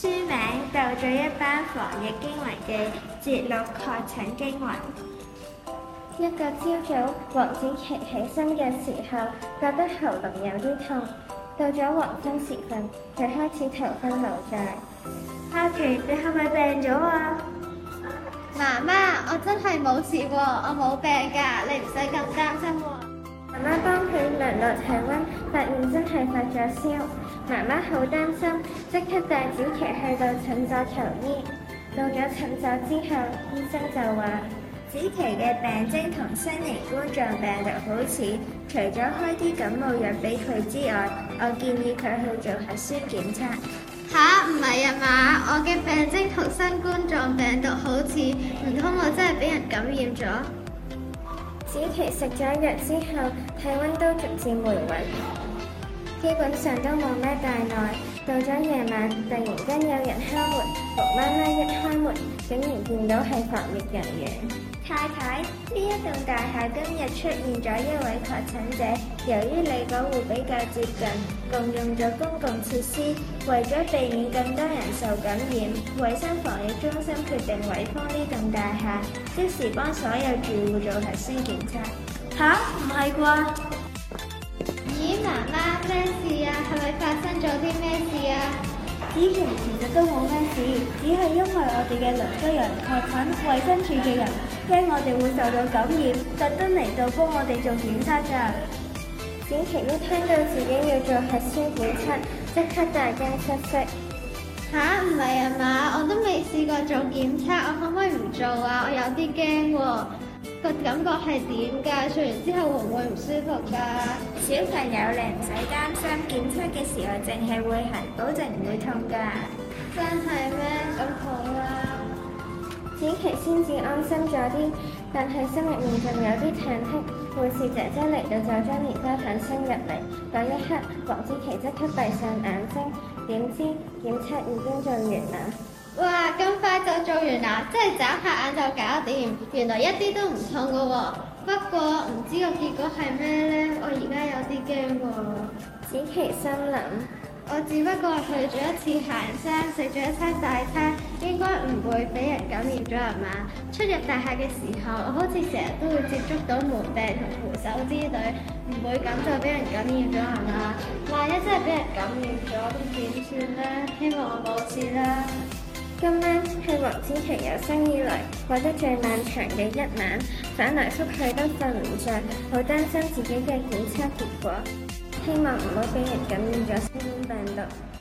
書名《到咗一班防疫驚魂記》節錄確診驚魂。 一個朝早，黃子琪起身嘅時候，覺得喉嚨有啲痛。到咗黃昏時分，佢開始頭昏腦脹。 哈奇，你係咪病咗啊？ 媽媽，我真係冇事喎，我冇病㗎，你唔使咁擔心喎。 媽媽幫佢量落體溫，發現真係發咗燒。媽媽好擔心，即刻帶子琪去到診所求醫。到咗診所之後，醫生就話： 子琪嘅病徵同新型冠狀病毒好似，除咗開啲感冒藥俾佢之外，我建議佢去做核酸檢測。 吓？唔係啊嘛，我嘅病徵同新冠狀病毒好似，唔通我真係俾人感染咗？ 子琪食咗藥之後，體溫都逐漸回穩，基本上都冇咩大礙。到咗夜晚，突然間有人敲門，木媽媽一開門，竟然見到係防疫人員。 太太，呢一棟大廈今日出現咗一位確診者，由於你嗰戶比較接近，共用咗公共設施，為咗避免更多人受感染，衛生防疫中心決定圍封呢棟大廈，即時幫所有住戶做核酸檢測。吓？唔係啩？ 咦，媽媽，咩事啊？係咪發生咗啲咩事啊？ 子琪其實都冇咩事，只係因為我哋嘅鄰居人確診，衛生署嘅人驚我哋會受到感染，特登嚟到幫我哋做檢測㗎。 子琪一聽到自己要做核酸檢測，即刻大驚失色。 吓？唔係啊嘛，我都未試過做檢測，我可唔可以唔做啊？我有啲驚喎。個感覺係點㗎？做完之後會唔會唔舒服㗎？ 小朋友你唔使擔心，檢測嘅時候淨係會痕，保證唔會痛㗎。 真係咩？咁好啦。 子琪先至安心咗啲，但係心入面仲有啲忐忑。護士姐姐嚟到就將蓮花粉伸入嚟，嗰一刻黃子琪即刻閉上眼睛，點知檢測已經做完啦。 哇！咁快就做完啦，即係眨下眼就搞掂，原來一啲都唔痛㗎喎。不過唔知個結果係咩呢？我而家有啲驚喎。 子琪心諗： 我只不過去咗一次行山，食咗一餐大餐，應該唔會俾人感染咗係嘛？出入大廈嘅時候，我好似成日都會接觸到門柄同扶手之類，唔會咁就俾人感染咗係嘛？萬一真係俾人感染咗，咁點算呢？希望我冇事啦。 今晚係黃子琪有生以來過得最漫長嘅一晚，翻來覆去都瞓唔着，好擔心自己嘅檢測結果，希望唔好俾人感染咗新冠病毒。